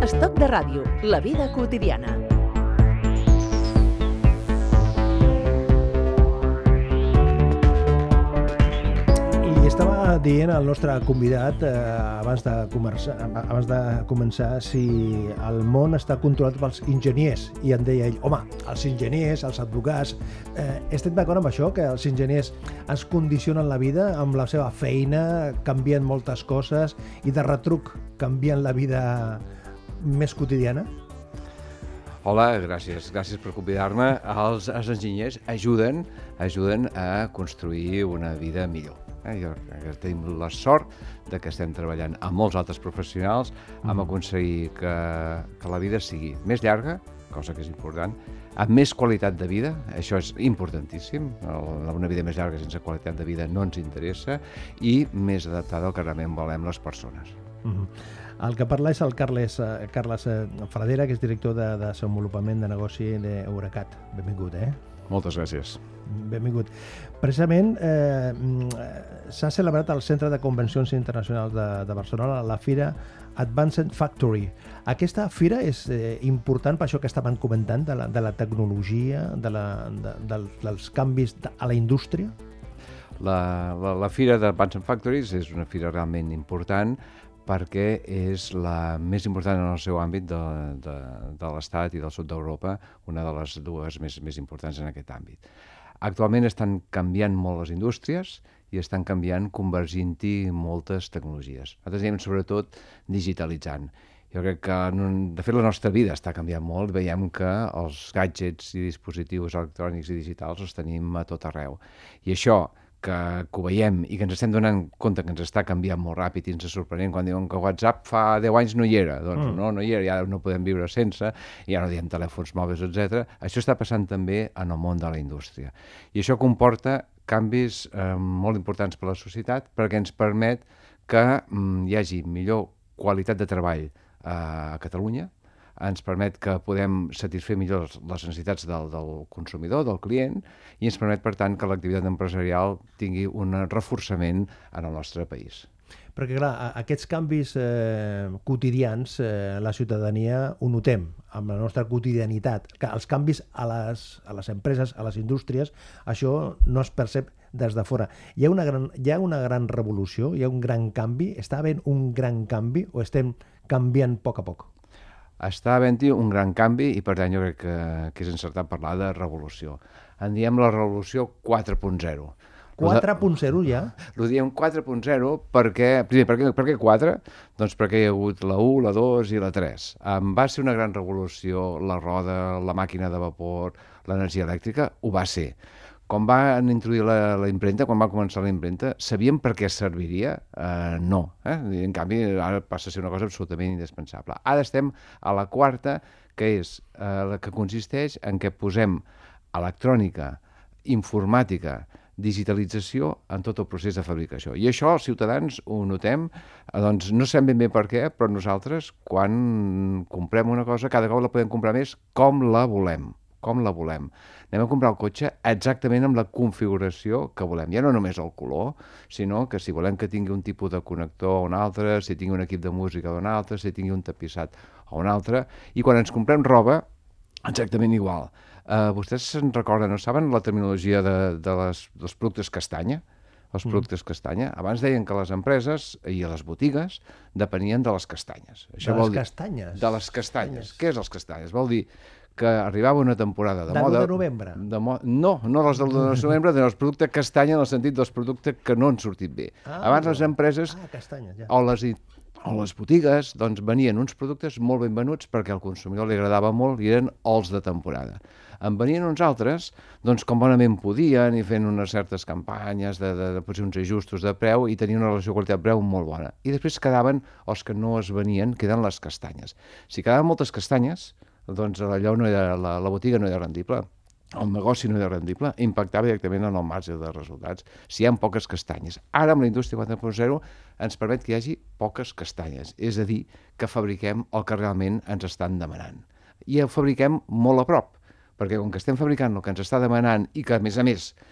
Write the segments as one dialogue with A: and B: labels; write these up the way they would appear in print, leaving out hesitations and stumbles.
A: Estoc de ràdio, la vida quotidiana.
B: I estava dient al nostre convidat abans de començar si el món està controlat pels enginyers, i em deia ell, home, els enginyers, els advocats, estem d'acord amb això, que els enginyers ens condicionen la vida amb la seva feina, canvien moltes coses i de retruc canvien la vida més quotidiana?
C: Hola, gràcies per convidar-me. Els enginyers ajuden a construir una vida millor. Tenim la sort de que estem treballant amb molts altres professionals amb aconseguir que la vida sigui més llarga, cosa que és important, amb més qualitat de vida, això és importantíssim, una vida més llarga sense qualitat de vida no ens interessa, i més adaptada al que realment volem les persones.
B: El que parla és el Carles Fradera, que és director de desenvolupament de negoci d'Eurecat. Benvingut,
C: Moltes gràcies.
B: Benvingut. Precisament s'ha celebrat al Centre de Convencions Internacionals de Barcelona la Fira Advanced Factory. Aquesta fira és important per això que estaven comentant, de la tecnologia, dels canvis a la indústria?
C: La Fira d'Advanced Factories és una fira realment important perquè és la més important en el seu àmbit de l'Estat i del sud d'Europa, una de les dues més importants en aquest àmbit. Actualment estan canviant molt les indústries i estan canviant, convergint-hi moltes tecnologies. Nosaltres diem sobretot digitalitzant. Jo crec que, de fet, la nostra vida està canviant molt. Veiem que els gadgets i dispositius electrònics i digitals els tenim a tot arreu. I això, que ho veiem i que ens estem donant compte que ens està canviant molt ràpid i ens és sorprenent quan diuen que WhatsApp fa 10 anys no hi era. Doncs no hi era, ja no podem viure sense, ja no diem telèfons mòbils, etc. Això està passant també en el món de la indústria. I això comporta canvis molt importants per a la societat perquè ens permet que hi hagi millor qualitat de treball a Catalunya, ens permet que podem satisfer millor les necessitats del consumidor, del client, i ens permet, per tant, que l'activitat empresarial tingui un reforçament en el nostre país.
B: Perquè, clar, aquests canvis quotidians, la ciutadania ho notem amb la nostra quotidianitat. Els canvis a les empreses, a les indústries, això no es percep des de fora. Hi ha una gran revolució, hi ha un gran canvi, està havent un gran canvi o estem canviant a poc?
C: Està havent-hi un gran canvi i, per tant, jo crec que és encertat parlar de revolució. En diem la revolució 4.0.
B: 4.0 ja?
C: Ho diem 4.0 perquè... Primer, per què 4? Doncs perquè hi ha hagut la 1, la 2 i la 3. Va ser una gran revolució la roda, la màquina de vapor, l'energia elèctrica? Ho va ser. Quan van introduir la impremta, quan va començar la impremta, sabíem per què serviria? No. En canvi, ara passa a ser una cosa absolutament indispensable. Ara estem a la quarta, que és la que consisteix en què posem electrònica, informàtica, digitalització en tot el procés de fabricació. I això els ciutadans ho notem, doncs no sabem ben bé per què, però nosaltres, quan comprem una cosa, cada cop la podem comprar més com la volem. Anem a comprar el cotxe exactament amb la configuració que volem. Ja no només el color, sinó que si volem que tingui un tipus de connector o un altre, si tingui un equip de música o un altre, si tingui un tapissat o un altre. I quan ens comprem roba, exactament igual. Vostès se'n recorden, no saben la terminologia dels productes castanya? Els productes castanya. Abans deien que les empreses i les botigues depenien de les castanyes.
B: Castanyes?
C: De les castanyes. Què és les castanyes? Vol dir que arribava una temporada de moda...
B: De novembre?
C: No les del 1 de novembre, sinó els productes castanya en el sentit dels productes que no han sortit bé. Abans les empreses o les botigues doncs, venien uns productes molt ben venuts perquè al consumidor li agradava molt i eren els de temporada. En venien uns altres, doncs com bonament podien i fent unes certes campanyes de potser uns ajustos de preu i tenien una relació qualitat-preu molt bona. I després quedaven els que no es venien, queden les castanyes. Si quedaven moltes castanyes, doncs allò no era, la botiga no era rendible, el negoci no era rendible, impactava directament en el marge de resultats si hi ha poques castanyes. Ara amb la indústria 4.0 ens permet que hi hagi poques castanyes, és a dir, que fabriquem el que realment ens estan demanant. I el fabriquem molt a prop, perquè com que estem fabricant el que ens està demanant i que, a més,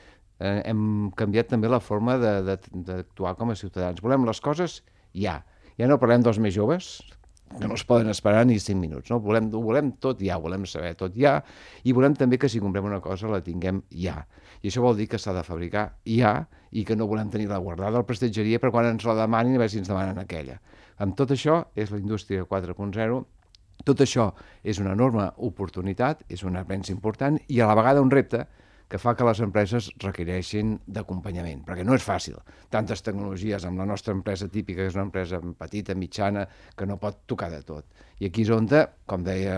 C: hem canviat també la forma d'actuar com a ciutadans. Volem les coses ja. Ja no parlem dels més joves, que no es poden esperar ni 5 minuts. No? Ho volem tot ja, volem saber tot ja, i volem també que si comprem una cosa la tinguem ja. I això vol dir que s'ha de fabricar ja i que no volem tenir-la guardada al prestatgeria per quan ens la demanin, a veure si ens demanen aquella. Amb tot això és la indústria 4.0. Tot això és una enorme oportunitat, és un avenç important i a la vegada un repte que fa que les empreses requereixin d'acompanyament, perquè no és fàcil. Tantes tecnologies amb la nostra empresa típica, que és una empresa petita, mitjana, que no pot tocar de tot. I aquí és on, com deia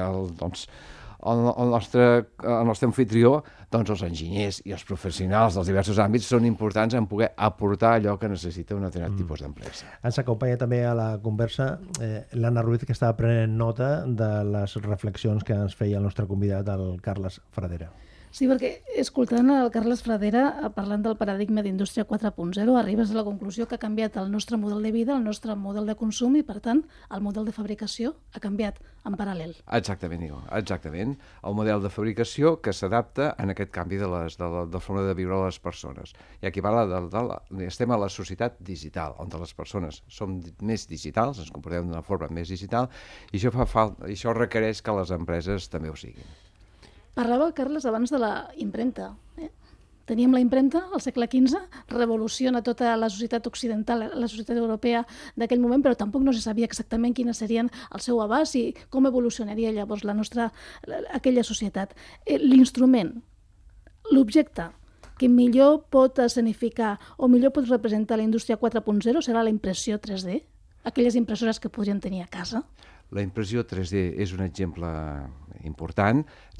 C: el nostre anfitrió, doncs els enginyers i els professionals dels diversos àmbits són importants en poder aportar allò que necessita un determinat tipus d'empresa.
B: Ens acompanya també a la conversa l'Anna Ruiz, que estava prenent nota de les reflexions que ens feia el nostre convidat, el Carles Fradera.
D: Sí, perquè escoltant el Carles Fradera parlant del paradigma d'indústria 4.0 arribes a la conclusió que ha canviat el nostre model de vida, el nostre model de consum i, per tant, el model de fabricació ha canviat en paral·lel.
C: Exactament, Igo, exactament. El model de fabricació que s'adapta en aquest canvi de la forma de viure les persones. I aquí parla estem a la societat digital, on les persones som més digitals, ens comportem d'una forma més digital, i això requereix que les empreses també ho siguin.
D: Parlava, Carles, abans de la impremta. Teníem la impremta al segle XV, revoluciona tota la societat occidental, la societat europea d'aquell moment, però tampoc no se sabia exactament quines serien el seu abast i com evolucionaria llavors aquella societat. L'instrument, l'objecte que millor pot escenificar o millor pot representar la indústria 4.0 serà la impressió 3D, aquelles impressores que podríem tenir a casa.
C: La impressió 3D és un exemple important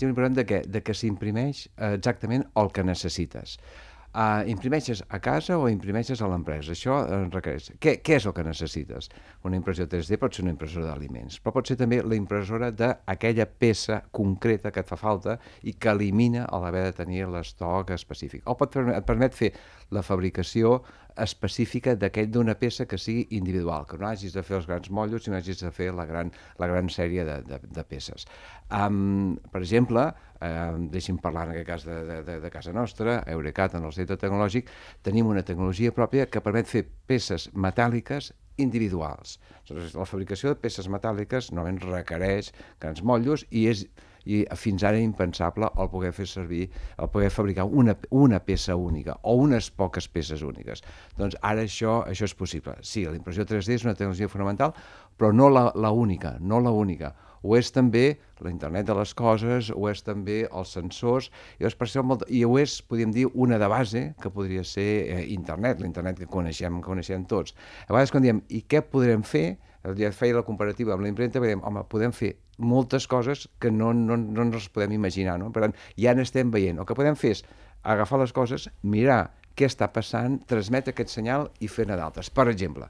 C: de que s'imprimeix exactament el que necessites. Imprimeixes a casa o imprimeixes a l'empresa? Això requereix. Què és el que necessites? Una impressió 3D pot ser una impressora d'aliments, però pot ser també la impressora d'aquella peça concreta que et fa falta i que elimina l'haver de tenir l'estoc específic. O et permet fer la fabricació específica d'una peça que sigui individual, que no hagis de fer els grans motllos, sinó hagis de fer la gran sèrie de peces. Per exemple, deixi'm parlar en aquest cas de casa nostra, Eurecat, en el centre tecnològic, tenim una tecnologia pròpia que permet fer peces metàl·liques individuals. La fabricació de peces metàl·liques normalment requereix grans motllos i fins ara impensable el poder fer servir, el poder fabricar una peça única o unes poques peces úniques. Doncs ara això és possible. Sí, la impressió 3D és una tecnologia fonamental, però no la única, no la única. Ho és també la internet de les coses, ho és també els sensors, i ho és, podríem dir, una de base que podria ser internet, l'internet que coneixem tots. A vegades quan diem, i què podrem fer? Ja feia la comparativa amb la impremta, dèiem, home, podem fer moltes coses que no ens podem imaginar, no? Per tant, ja n'estem veient. El que podem fer és agafar les coses, mirar què està passant, transmetre aquest senyal i fer-ne d'altres. Per exemple,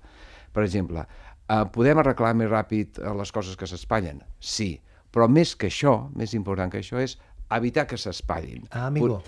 C: podem arreglar més ràpid les coses que s'espatllen? Sí, però més que això, més important que això és evitar que s'espatllin.
B: Amigo.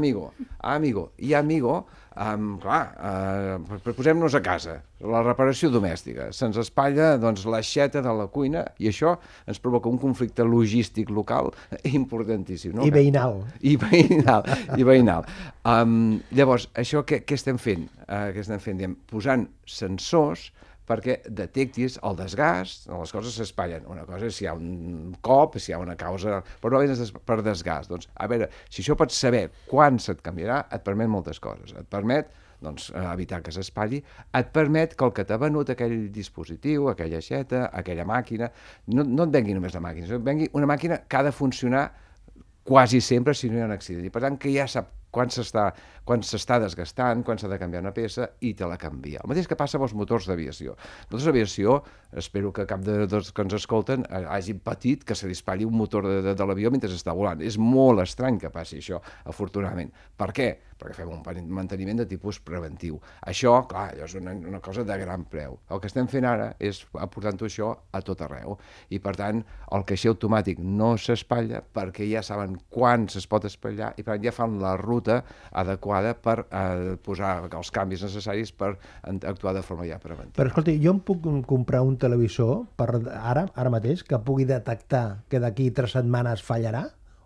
C: I amigo, clar, posem-nos a casa, la reparació domèstica. Se'ns espatlla l'aixeta de la cuina i això ens provoca un conflicte logístic local importantíssim. No?
B: I veïnal.
C: I veïnal. Llavors, això què estem fent? Posant sensors perquè detectis el desgast, les coses s'espatllen. Una cosa és si hi ha un cop, si hi ha una causa, però no és per desgast. Doncs, a veure, si això pots saber quan se't canviarà, et permet moltes coses. Et permet evitar que s'espatlli, et permet que el que t'ha venut aquell dispositiu, aquella aixeta, aquella màquina, no et vengui només la màquina, sinó que et vengui una màquina que ha de funcionar quasi sempre si no hi ha un accident. I per tant que ja sap quan s'està desgastant, quan s'ha de canviar una peça i te la canvia. El mateix que passa amb els motors d'aviació. Els motors d'aviació, espero que cap dels que ens escolten hagin patit que se li espatlli un motor de l'avió mentre està volant. És molt estrany que passi això, afortunadament. Per què? Perquè fem un manteniment de tipus preventiu. Això, clar, és una cosa de gran preu. El que estem fent ara és aportant-ho això a tot arreu. I, per tant, el caixer automàtic no s'espatlla perquè ja saben quan es pot espatllar i, per tant, ja fan la ruta adequada per posar els canvis necessaris per actuar de forma ja preventiva.
B: Però, escolti, jo em puc comprar un televisor ara mateix que pugui detectar que d'aquí 3 setmanes fallarà?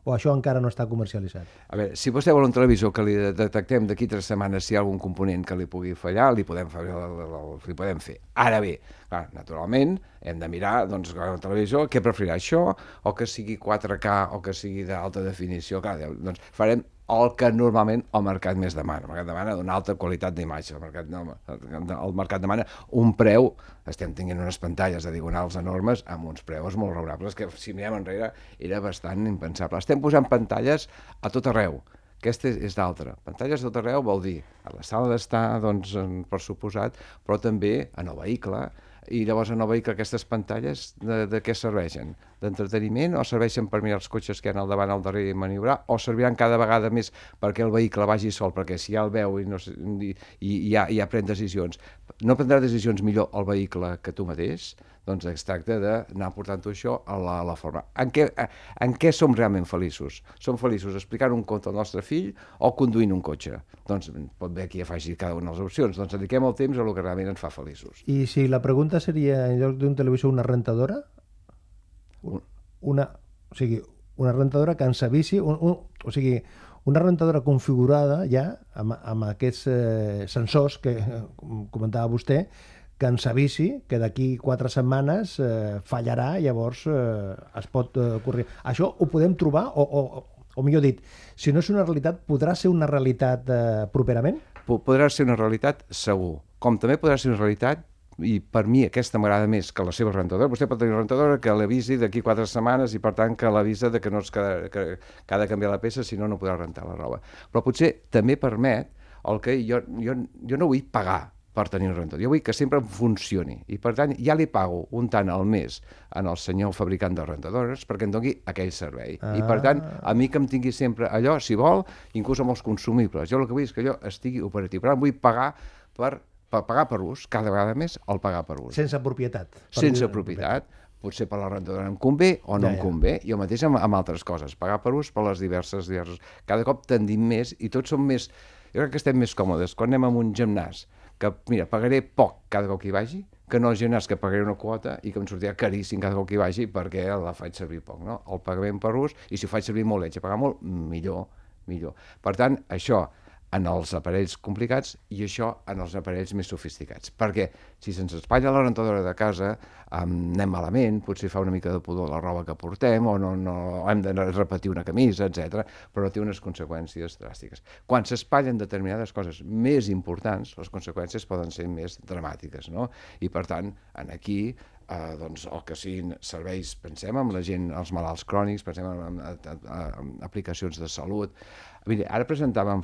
B: o això encara no està comercialitzat?
C: A veure, si vostè vol un televisor que li detectem d'aquí 3 setmanes si hi ha algun component que li pugui fallar, li podem fer. Ara bé, clar, naturalment, hem de mirar, doncs, el televisor, què preferirà, això, o que sigui 4K, o que sigui d'alta definició, clar, doncs farem el que normalment el mercat més demana. El mercat demana d'una alta qualitat d'imatge. El mercat demana un preu. Estem tenint unes pantalles de diagonals enormes amb uns preus molt raonables que, si mirem enrere, era bastant impensable. Estem posant pantalles a tot arreu. Aquesta és d'altra. Pantalles a tot arreu vol dir a la sala d'estar, doncs, per suposat, però també en el vehicle. I llavors en el vehicle aquestes pantalles de què serveixen? D'entreteniment o serveixen per mirar els cotxes que hi ha al davant, al darrere i maniobrar, o serviran cada vegada més perquè el vehicle vagi sol, perquè si ja el veu i ja pren decisions, no prendrà decisions millor el vehicle que tu mateix? Doncs es tracta d'anar portant-ho això a la forma. En què som realment feliços? Som feliços explicant un conte al nostre fill o conduint un cotxe? Doncs pot bé que hi faci cada una de les opcions. Doncs dediquem el temps a el que realment ens fa feliços.
B: I si la pregunta seria, en lloc d'un televisor, una rentadora? Una rentadora que ens avisi, una rentadora configurada ja amb aquests sensors que comentava vostè, que ens avisi que d'aquí 4 setmanes fallarà, llavors es pot corregir. Això ho podem trobar, o millor dit, si no és una realitat, podrà ser una realitat properament?
C: Podrà ser una realitat segur, com també podrà ser una realitat, i per mi aquesta m'agrada més que la seva rentadora. Vostè pot tenir una rentadora que l'avisi d'aquí 4 setmanes i per tant que l'avisa que ha de canviar la peça, si no, no podrà rentar la roba. Però potser també permet el que jo no vull pagar per tenir un rentador. Jo vull que sempre funcioni i per tant ja li pago un tant al mes al senyor fabricant de rentadores perquè em doni aquell servei. I per tant, a mi que em tingui sempre allò, si vol, inclús amb els consumibles. Jo el que vull és que allò estigui operatiu. Per tant, vull pagar per ús, cada vegada més el pagar per ús.
B: Sense propietat.
C: Sense propietat. Potser per la rentadora em convé o no em convé. Jo mateix amb altres coses. Pagar per ús per les diverses. Cada cop tendim més i tots som més... Jo crec que estem més còmodes. Quan anem a un gimnàs, que, mira, pagaré poc cada cop que hi vagi, que no el gimnàs que pagaré una quota i que em sortirà caríssim cada cop que hi vagi perquè la faig servir poc, no? El pagament per ús, i si ho faig servir molt, l'haig de pagar molt, millor. Per tant, això en els aparells complicats i això en els aparells més sofisticats. Perquè si se'ns espatlla la rentadora de casa, anem malament, potser fa una mica de pudor la roba que portem, o no hem de repetir una camisa, etc. Però té unes conseqüències dràstiques. Quan s'espatllen determinades coses més importants, les conseqüències poden ser més dramàtiques, no? I per tant, aquí doncs, el que siguin serveis, pensem en la gent, els malalts crònics, pensem en aplicacions de salut. Mira, ara presentàvem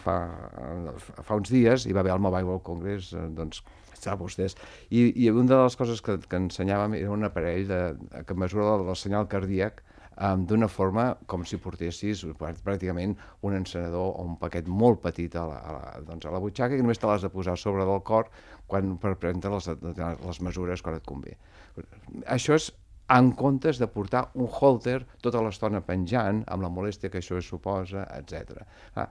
C: fa uns dies, hi va haver el Mobile World Congress, doncs, sap vostès, i una de les coses que ensenyàvem era un aparell que mesura el senyal cardíac d'una forma com si portessis pràcticament un encenedor o un paquet molt petit a la butxaca i només te l'has de posar sobre del cor per prendre les mesures quan et convé. Això és en comptes de portar un holter tota l'estona penjant, amb la molèstia que això suposa, etc.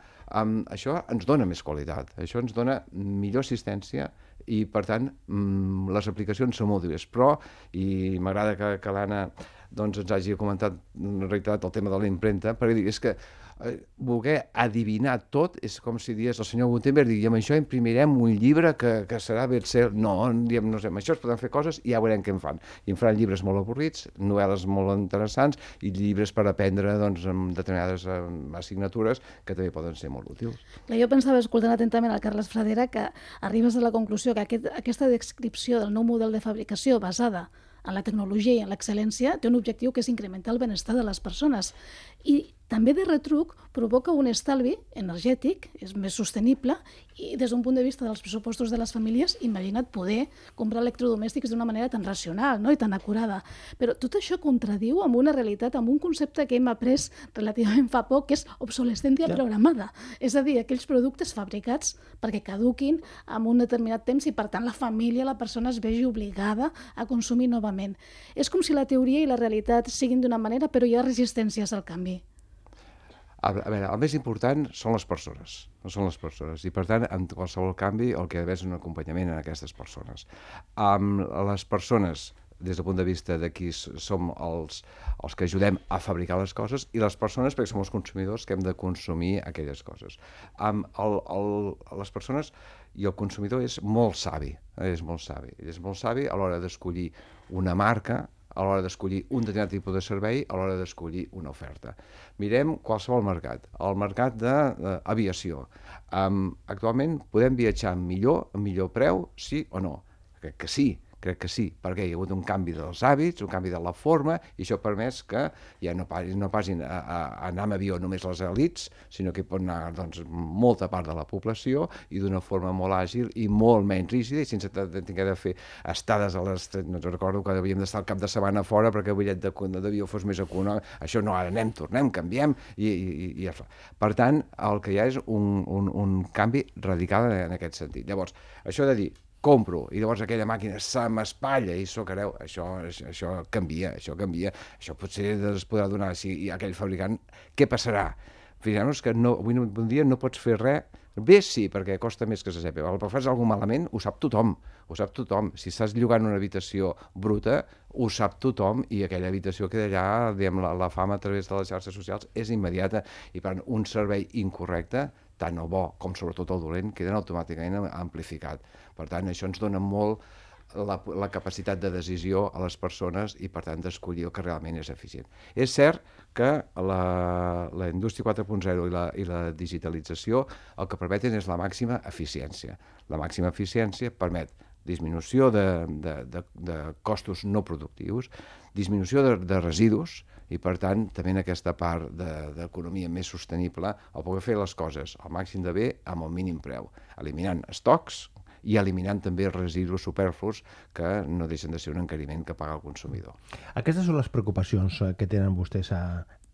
C: Això ens dona més qualitat, això ens dona millor assistència i, per tant, les aplicacions són molt diverses. Però, i m'agrada que l'Anna ens hagi comentat, reiterat el tema de la impremta, perquè és que voler adivinar tot és com si digués el senyor Gutenberg, i amb això imprimirem un llibre que serà best-seller. No, diem, no sé, amb això es poden fer coses i ja veurem què en fan. I en faran llibres molt avorrits, novel·les molt interessants i llibres per aprendre amb determinades assignatures que també poden ser molt útils.
D: Jo pensava, escoltant atentament el Carles Fradera, que arribes a la conclusió que aquesta descripció del nou model de fabricació basada en la tecnologia i en l'excel·lència té un objectiu que és incrementar el benestar de les persones. I també de retruc provoca un estalvi energètic, és més sostenible, i des d'un punt de vista dels pressupostos de les famílies, imagina't poder comprar electrodomèstics d'una manera tan racional, no? I tan acurada. Però tot això contradiu amb una realitat, amb un concepte que hem après relativament fa poc, que és obsolescència programada. És a dir, aquells productes fabricats perquè caduquin en un determinat temps i, per tant, la família, la persona es vegi obligada a consumir novament. És com si la teoria i la realitat siguin d'una manera, però hi ha resistències al canvi.
C: A veure, el més important són les persones, i per tant, en qualsevol canvi el que ha d'haver és un acompanyament en aquestes persones. Les persones des del punt de vista de qui som els que ajudem a fabricar les coses, i les persones, perquè som els consumidors que hem de consumir aquelles coses. Les persones i el consumidor és molt savi, és molt savi a l'hora d'escollir una marca, a l'hora d'escollir un determinat tipus de servei, a l'hora d'escollir una oferta. Mirem qualsevol mercat, el mercat d'aviació. Actualment podem viatjar amb millor preu, sí o no? Crec que sí, perquè hi ha hagut un canvi dels hàbits, un canvi de la forma, i això ha permès que ja no passin a anar amb avió només les elits, sinó que hi pot anar molta part de la població i d'una forma molt àgil i molt menys rígida, i sense haver de fer estades a les... No recordo que havíem d'estar el cap de setmana fora perquè el bitllet d'avió fos més econòmic. Això no, ara anem, tornem, canviem, i ja fa. Per tant, el que hi ha és un canvi radical en aquest sentit. Llavors, això de dir, compro, i llavors aquella màquina se m'espatlla i s'ho creu, això canvia, això potser es podrà donar a aquell fabricant. Què passarà? Fixem-nos que avui en dia no pots fer res, bé sí, perquè costa més que se sàpiga, però fas alguna malament, ho sap tothom. Si estàs llogant una habitació bruta, ho sap tothom, i aquella habitació queda allà, diguem, la fama a través de les xarxes socials és immediata, i per un servei incorrecte, tant el bo com sobretot el dolent, queden automàticament amplificat. Per tant, això ens dona molt la capacitat de decisió a les persones i, per tant, d'escollir el que realment és eficient. És cert que la indústria 4.0 i la digitalització el que permeten és la màxima eficiència. La màxima eficiència permet disminució de costos no productius, disminució de residus, i per tant també en aquesta part d'economia més sostenible el poder fer les coses al màxim de bé amb el mínim preu, eliminant estocs i eliminant també residus superflus que no deixen de ser un encariment que paga el consumidor.
B: Aquestes són les preocupacions que tenen vostès a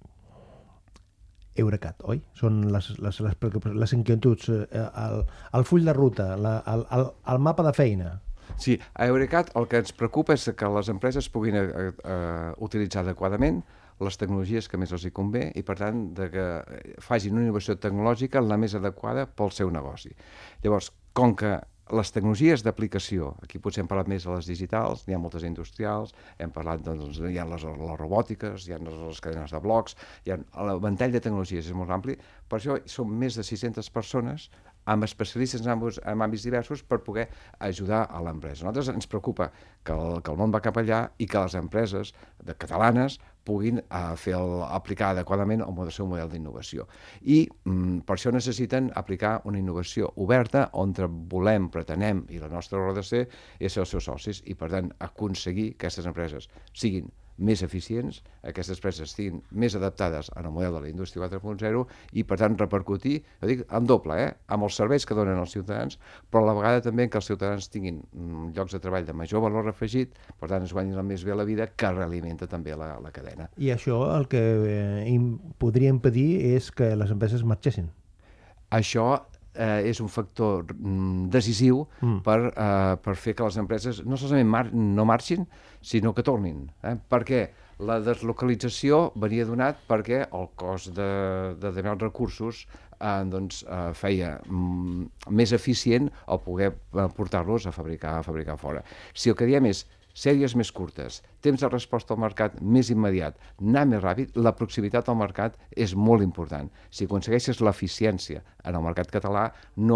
B: Eurecat, oi? Són les inquietuds, el full de ruta, el mapa de feina.
C: Sí, a Eurecat el que ens preocupa és que les empreses puguin utilitzar adequadament les tecnologies que més els hi convé i, per tant, que facin una innovació tecnològica la més adequada pel seu negoci. Llavors, com que les tecnologies d'aplicació, aquí potser hem parlat més de les digitals, n'hi ha moltes industrials, hem parlat, hi ha les robòtiques, hi ha les cadenes de blocs, el ventall de tecnologies és molt ampli, per això són més de 600 persones amb especialistes en àmbits diversos per poder ajudar a l'empresa. A nosaltres ens preocupa que el món va cap allà i que les empreses catalanes puguin aplicar adequadament el seu model d'innovació. I per això necessiten aplicar una innovació oberta on volem, pretenem, i la nostra raó de ser és ser els seus socis, i per tant aconseguir que aquestes empreses siguin més eficients, aquestes empreses estiguin més adaptades al model de la indústria 4.0 i, per tant, repercutir, jo dic, en doble, amb els serveis que donen als ciutadans, però a la vegada també que els ciutadans tinguin llocs de treball de major valor afegit, per tant, es guanyin més bé la vida, que realimenta també la cadena.
B: I això el que podria impedir és que les empreses marxessin.
C: Això és un factor decisiu per fer que les empreses no solament no marxin, sinó que tornin. Perquè la deslocalització venia donat perquè el cost de determinats recursos feia més eficient el poder portar-los a fabricar fora. Si el que diem és sèries més curtes, temps de resposta al mercat més immediat, anar més ràpid, la proximitat al mercat és molt important. Si aconsegueixes l'eficiència en el mercat català,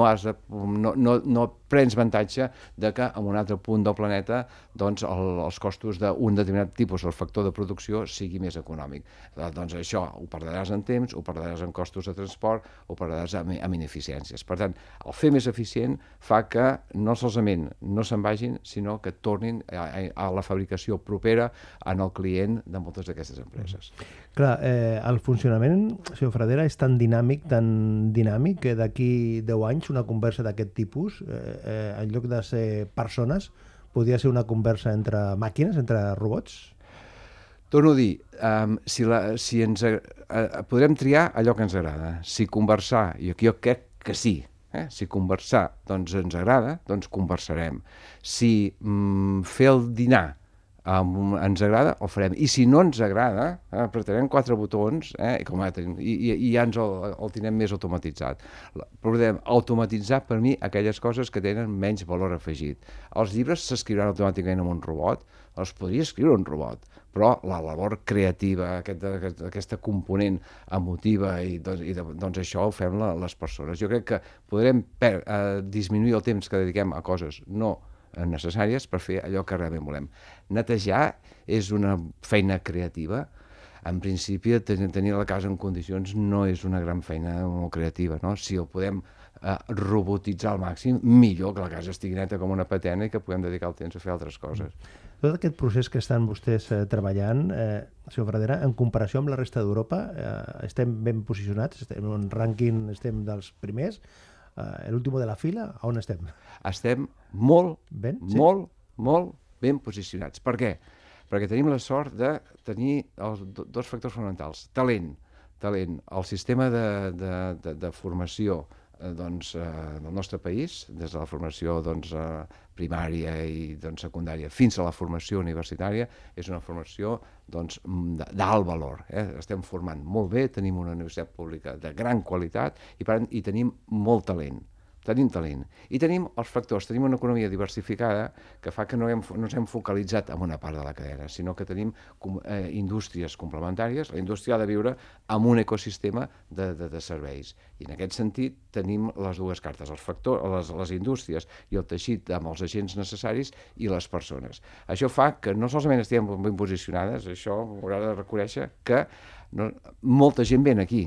C: no prens avantatge de que en un altre punt del planeta els costos d'un determinat tipus del factor de producció sigui més econòmic. Doncs això ho perdràs en temps, ho perdràs en costos de transport, ho perdràs en ineficiències. Per tant, el fer més eficient fa que no solament no se'n vagin, sinó que tornin a la fabricació propera en el client de moltes d'aquestes empreses.
B: Clar, el funcionament, senyor Fradera, és tan dinàmic que d'aquí 10 anys una conversa d'aquest tipus, en lloc de ser persones, podria ser una conversa entre màquines, entre robots?
C: Torno a dir, podrem triar allò que ens agrada. Si conversar, i aquí jo crec que sí, si conversar ens agrada, doncs conversarem. Si fer el dinar ens agrada, ho farem. I si no ens agrada, apretarem 4 botons i ja ens el tindrem més automatitzat. Podem automatitzar, per mi, aquelles coses que tenen menys valor afegit. Els llibres s'escriuran automàticament amb un robot, els podria escriure un robot, però la labor creativa, aquesta component emotiva, doncs això ho fem les persones. Jo crec que podrem disminuir el temps que dediquem a coses no necessàries per fer allò que realment volem. Netejar és una feina creativa. En principi, tenir la casa en condicions no és una gran feina molt creativa, no? Si ho podem robotitzar al màxim, millor que la casa estigui neta com una patena i que puguem dedicar el temps a fer altres coses.
B: Tot aquest procés que estan vostès treballant, senyor Fradera, en comparació amb la resta d'Europa, estem ben posicionats, estem en un rànquing, estem dels primers, l'últim de la fila, on estem?
C: Estem molt
B: molt
C: ben posicionats. Per què? Perquè tenim la sort de tenir els dos factors fonamentals. Talent. El sistema de formació del nostre país, des de la formació primària i secundària fins a la formació universitària, és una formació d'alt valor. Estem formant molt bé, tenim una universitat pública de gran qualitat i tenim molt talent. I tenim els factors, tenim una economia diversificada que fa que no ens hem focalitzat en una part de la cadena, sinó que tenim indústries complementàries. La indústria ha de viure en un ecosistema de serveis. I en aquest sentit tenim les dues cartes, les indústries i el teixit amb els agents necessaris i les persones. Això fa que no solament estiguem ben posicionades, això haurà de reconèixer que molta gent ven aquí.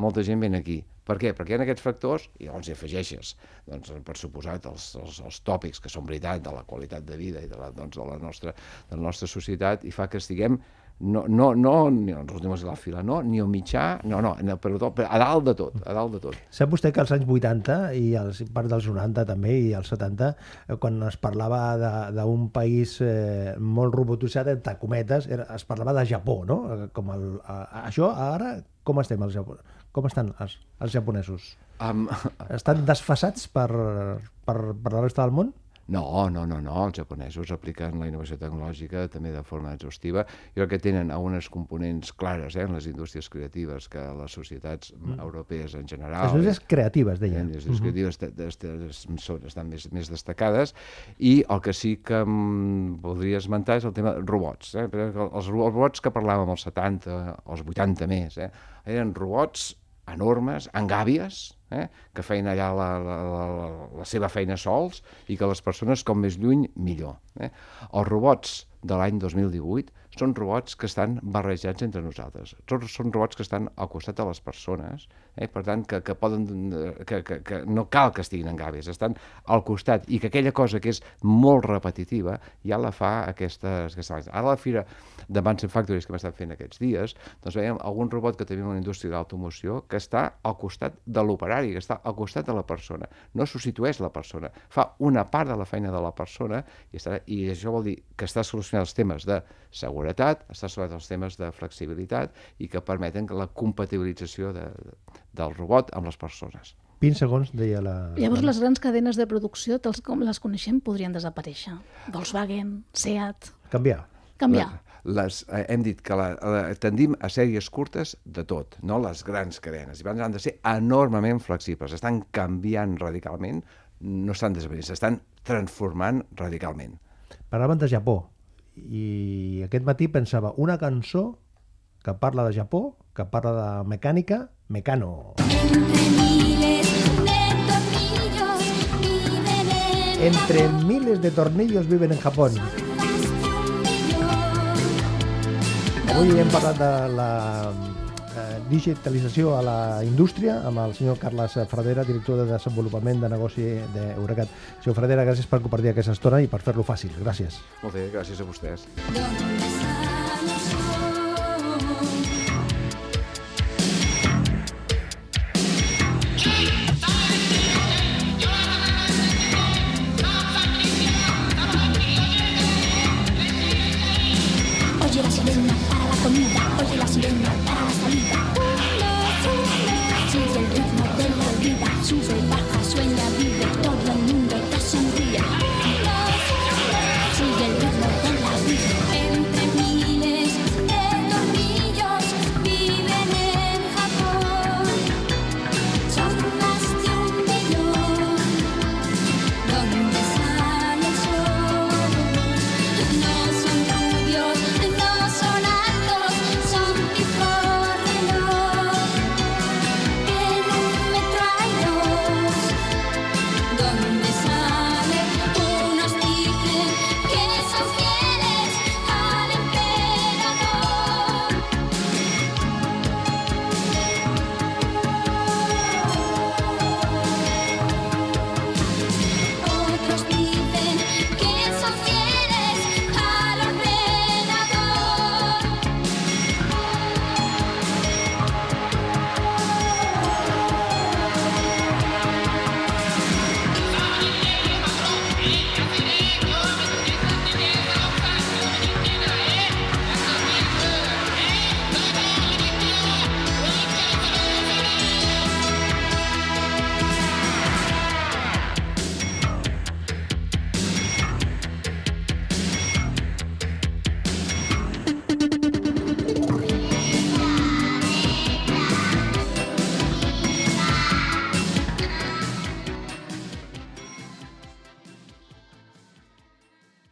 C: Per què? Perquè hi ha aquests factors, i llavors hi afegeixes, per suposat, els tòpics que són veritat de la qualitat de vida i de la nostra societat, i fa que estiguem no ni als últims de la fila, ni al mitjà, a dalt de tot.
B: Sap vostè que als anys 80 i part dels 90 també i als 70, quan es parlava d'un país molt robotitzat, entre cometes, es parlava de Japó, no? Això ara, com estem al Japó? Com estan els japonesos? Estan desfasats per la resta del món?
C: No, els japonesos apliquen la innovació tecnològica també de forma exhaustiva. Jo crec que tenen algunes components clares en les indústries creatives que les societats europees en general...
B: Les indústries creatives, deia.
C: Les indústries creatives estan més destacades, i el que sí que voldria esmentar és el tema de robots. Els robots que parlàvem als 70, als 80 més, eren robots enormes, amb gàbies, que feien allà la seva feina sols i que les persones, com més lluny, millor. Els robots de l'any 2018 són robots que estan barrejats entre nosaltres. Són robots que estan al costat de les persones, per tant, que no cal que estiguin en gàbies, estan al costat, i que aquella cosa que és molt repetitiva ja la fa aquestes... Ara a la Fira de Manson Factories que hem estat fent aquests dies, doncs veiem algun robot que tenim en la indústria d'automoció que està al costat de l'operari, que està al costat de la persona. No substitueix la persona, fa una part de la feina de la persona, i això vol dir que està solucionant els temes de seguretat, està solucionant els temes de flexibilitat i que permeten la compatibilització del robot amb les persones.
B: 20 segons, deia la...
D: Llavors les grans cadenes de producció, tals com les coneixem, podrien desaparèixer. Volkswagen, Seat...
B: Canviar.
C: Hem dit que tendim a sèries curtes de tot, no les grans cadenes. I han de ser enormement flexibles. Estan canviant radicalment, no estan desapareixent, s'estan transformant radicalment.
B: Parlaven de Japó, i aquest matí pensava una cançó que parla de Japó, que parla de mecànica, Mecano. Entre miles de tornillos viven en Japón. Avui hem parlat de la digitalització a la indústria amb el senyor Carles Fradera, director de desenvolupament de negoci d'Eurecat. Senyor Fradera, gràcies per compartir aquesta estona i per fer-lo fàcil. Gràcies.
C: Molt bé, gràcies a vostès.